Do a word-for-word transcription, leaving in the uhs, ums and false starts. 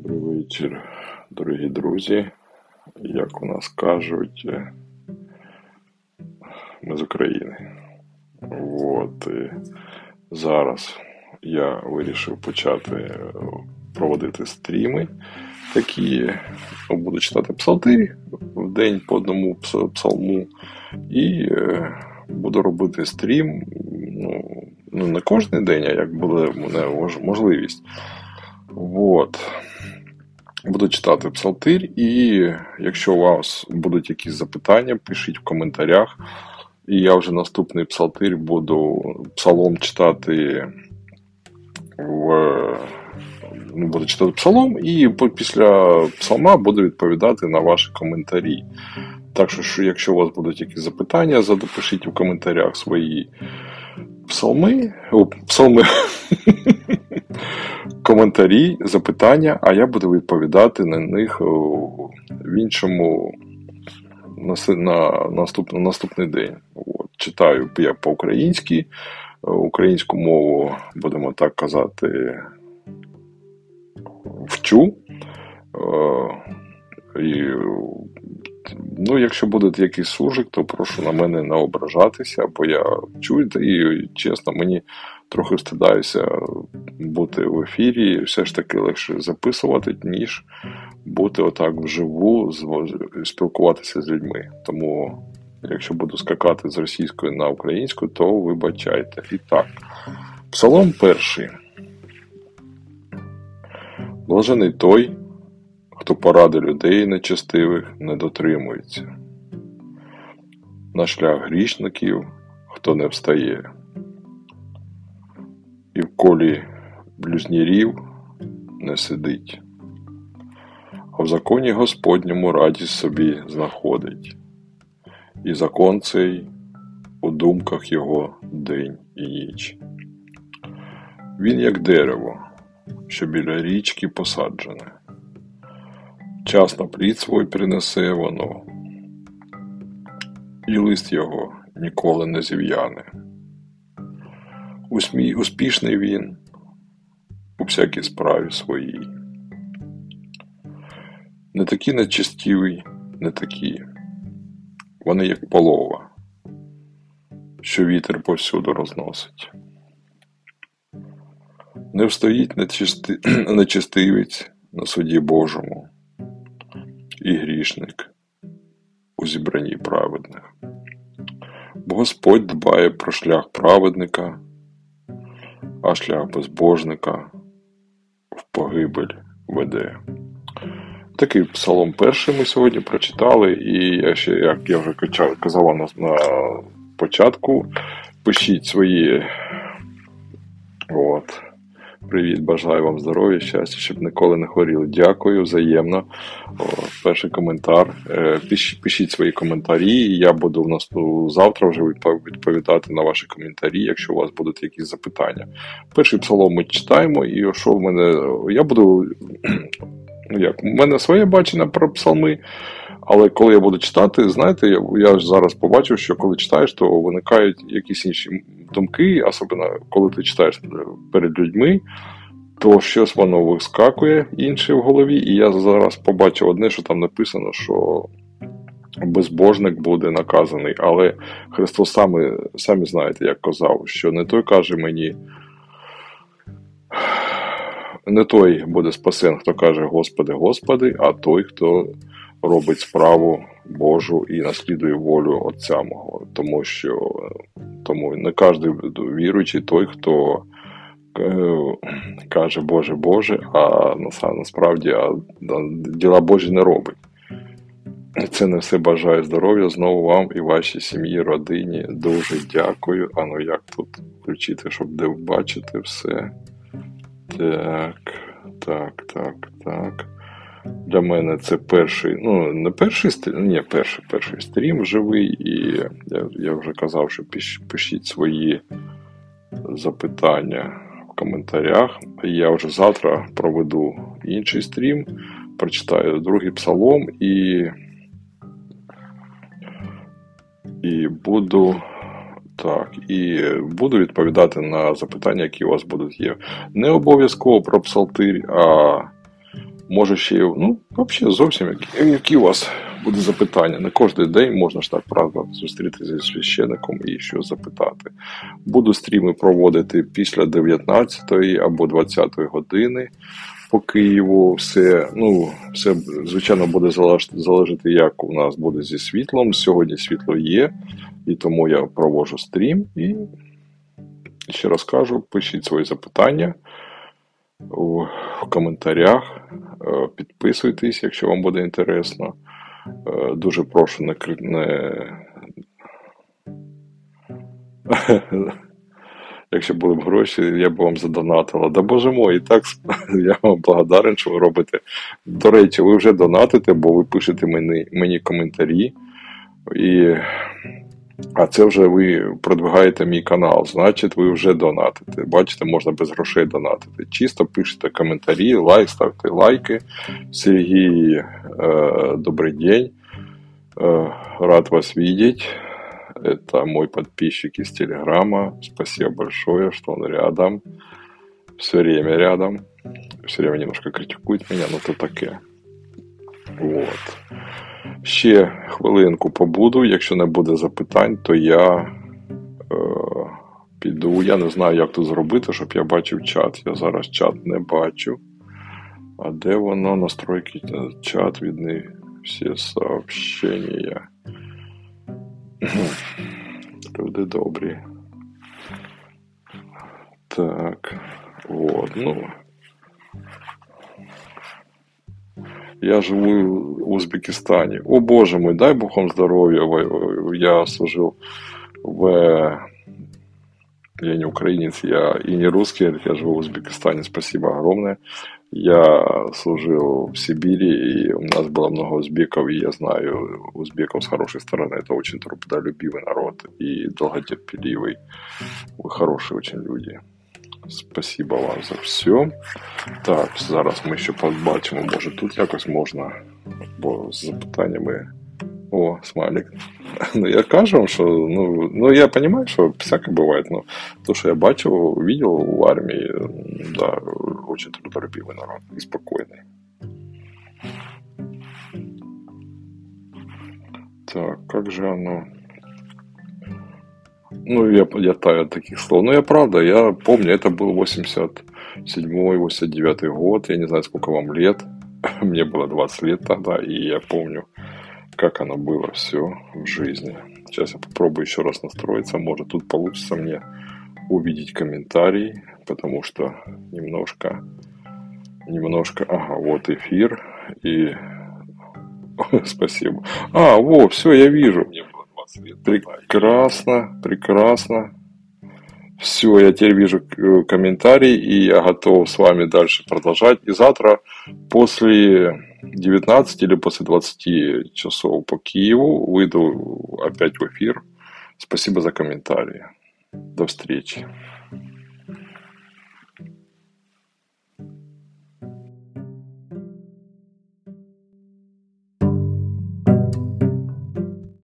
Добрий вечір, дорогі друзі. Як у нас кажуть, ми з України. От, і зараз я вирішив почати проводити стріми такі, буду читати псалтирі в день по одному псалму і буду робити стрім, ну, ну не кожен день, а як буде можливість. От. Буду читати псалтир, і якщо у вас будуть якісь запитання, пишіть в коментарях. І я вже наступний псалтир буду псалом читати в... буду читати псалом, і після псалма буду відповідати на ваші коментарі. Так що, якщо у вас будуть якісь запитання, запишіть в коментарях свої псалми, о, псалми, коментарі, запитання, а я буду відповідати на них в іншому, на, на наступ, наступний день. От, читаю я по-українськи, українську мову, будемо так казати, вчу. І, ну, якщо буде якийсь суржик, то прошу на мене не ображатися, бо я чую, і чесно, мені трохи встидаюся бути в ефірі, все ж таки легше записувати, ніж бути отак вживу, спілкуватися з людьми. Тому, якщо буду скакати з російської на українську, то вибачайте. І так, псалом перший. Блажений той, хто поради людей нечестивих не дотримується. На шлях грішників, хто не встає. І в колі блюзнірів не сидить. А в законі Господньому радість собі знаходить. І закон цей у думках його день і ніч. Він як дерево, що біля річки посаджене. Вчасно плід свій принесе воно, і лист його ніколи не зів'яне. Усмій, успішний він у всякій справі своїй. Не такі нечестиві, не такі. Вони як полова, що вітер повсюду розносить. Не встоїть нечисти... нечестивець на суді Божому і грішник у зібранні праведних. Бо Господь дбає про шлях праведника, а шлях безбожника в погибель веде. Такий псалом перший ми сьогодні прочитали, і я ще, як я вже казала на, на початку, пишіть свої от, привіт, бажаю вам здоров'я, щастя, щоб ніколи не хворіли. Дякую, взаємно. О, перший коментар. Пишіть, пишіть свої коментарі, і я буду в нас ну, завтра вже відповідати на ваші коментарі, якщо у вас будуть якісь запитання. Перший псалом ми читаємо, і що в мене, я буду, ну як, у мене своє бачення про псалми, але коли я буду читати, знаєте, я, я ж зараз побачив, що коли читаєш, то виникають якісь інші думки, особливо коли ти читаєш перед людьми, то щось воно вискакує інше в голові, і я зараз побачив одне, що там написано, що безбожник буде наказаний, але Христос саме, самі знаєте, як казав, що не той каже мені, не той буде спасен, хто каже Господи, Господи, а той, хто робить справу Божу і наслідує волю Отця мого. Тому що тому не кожен віруючий той, хто е, каже Боже, Боже, а насправді а, діла Божі не робить. Це не все, бажаю здоров'я знову вам і вашій сім'ї, родині. Дуже дякую. А ну як тут включити, щоб де бачити все. Так, так, так, так. Для мене це перший, ну не перший стрім, ні, перший, перший стрім живий, і я, я вже казав, що пиш, пишіть свої запитання в коментарях. Я вже завтра проведу інший стрім, прочитаю другий псалом і, і буду так, і буду відповідати на запитання, які у вас будуть є. Не обов'язково про псалтир, а Може ще, ну, взагалі зовсім які, які у вас буде запитання. Не кожен день можна ж так, правда, зустрітися зі священником і щось запитати. Буду стріми проводити після дев'ятнадцятої або двадцятої години по Києву. Все, ну, все, звичайно, буде залежати, залежати, як у нас буде зі світлом. Сьогодні світло є, і тому я проводжу стрім. І ще раз кажу, пишіть свої запитання у коментарях, підписуйтесь, якщо вам буде інтересно. Дуже прошу не... не... Якщо були б гроші, я б вам задонатила. Да боже мой, і так я вам благодарен, що ви робите. До речі, ви вже донатите, бо ви пишете мені, мені коментарі. І... А це вже ви продвигаєте мій канал, значить ви вже донатите. Бачите, можна без грошей донатити. Чисто пишете коментарі, лайк, ставте лайки. Сергій, э, добрый день. Э, рад вас видеть. Это мой подписчик из Телеграма. Спасибо большое, что он рядом. Все время рядом. Все время немножко критикует меня, но то таке. Вот. Ще хвилинку побуду, якщо не буде запитань, то я е, піду. Я не знаю, як тут зробити, щоб я бачив чат. Я зараз чат не бачу. А де воно? Настройки чат, видны всі сообщення. Люди добрі. Так. Вот, ну... Я живу в Узбекистане. О боже мой, дай бог вам здоровья. Я служил в... Я не украинец, я и не русский, я живу в Узбекистане. Спасибо огромное. Я служил в Сибири, и у нас было много узбеков, и я знаю узбеков с хорошей стороны. Это очень трудолюбивый народ и долготерпеливый. Вы хорошие очень люди. Спасибо вам за все. Так, зараз ми ще побачимо, може тут якось можна, бо з запитаннями... О, смайлик. Ну, я кажу вам, що, ну, ну, я розумію, що всяке буває, но то, що я бачив, видел в армії, да, очень трудолюбивый народ і спокійний. Так, как же оно... Ну, я, я таю от таких слов. Ну, я правда, я помню, это был восемьдесят седьмой восемьдесят девятый год, я не знаю, сколько вам лет, мне было двадцать лет тогда, и я помню, как оно было все в жизни. Сейчас я попробую еще раз настроиться, может тут получится мне увидеть комментарий, потому что немножко, немножко, ага, вот эфир, и спасибо. А, во, все, я вижу. Прекрасно, прекрасно. Все, я теперь вижу комментарий, и я готов с вами дальше продолжать. И завтра после девятнадцати или после двадцати часов по Киеву выйду опять в эфир. Спасибо за комментарии. До встречи.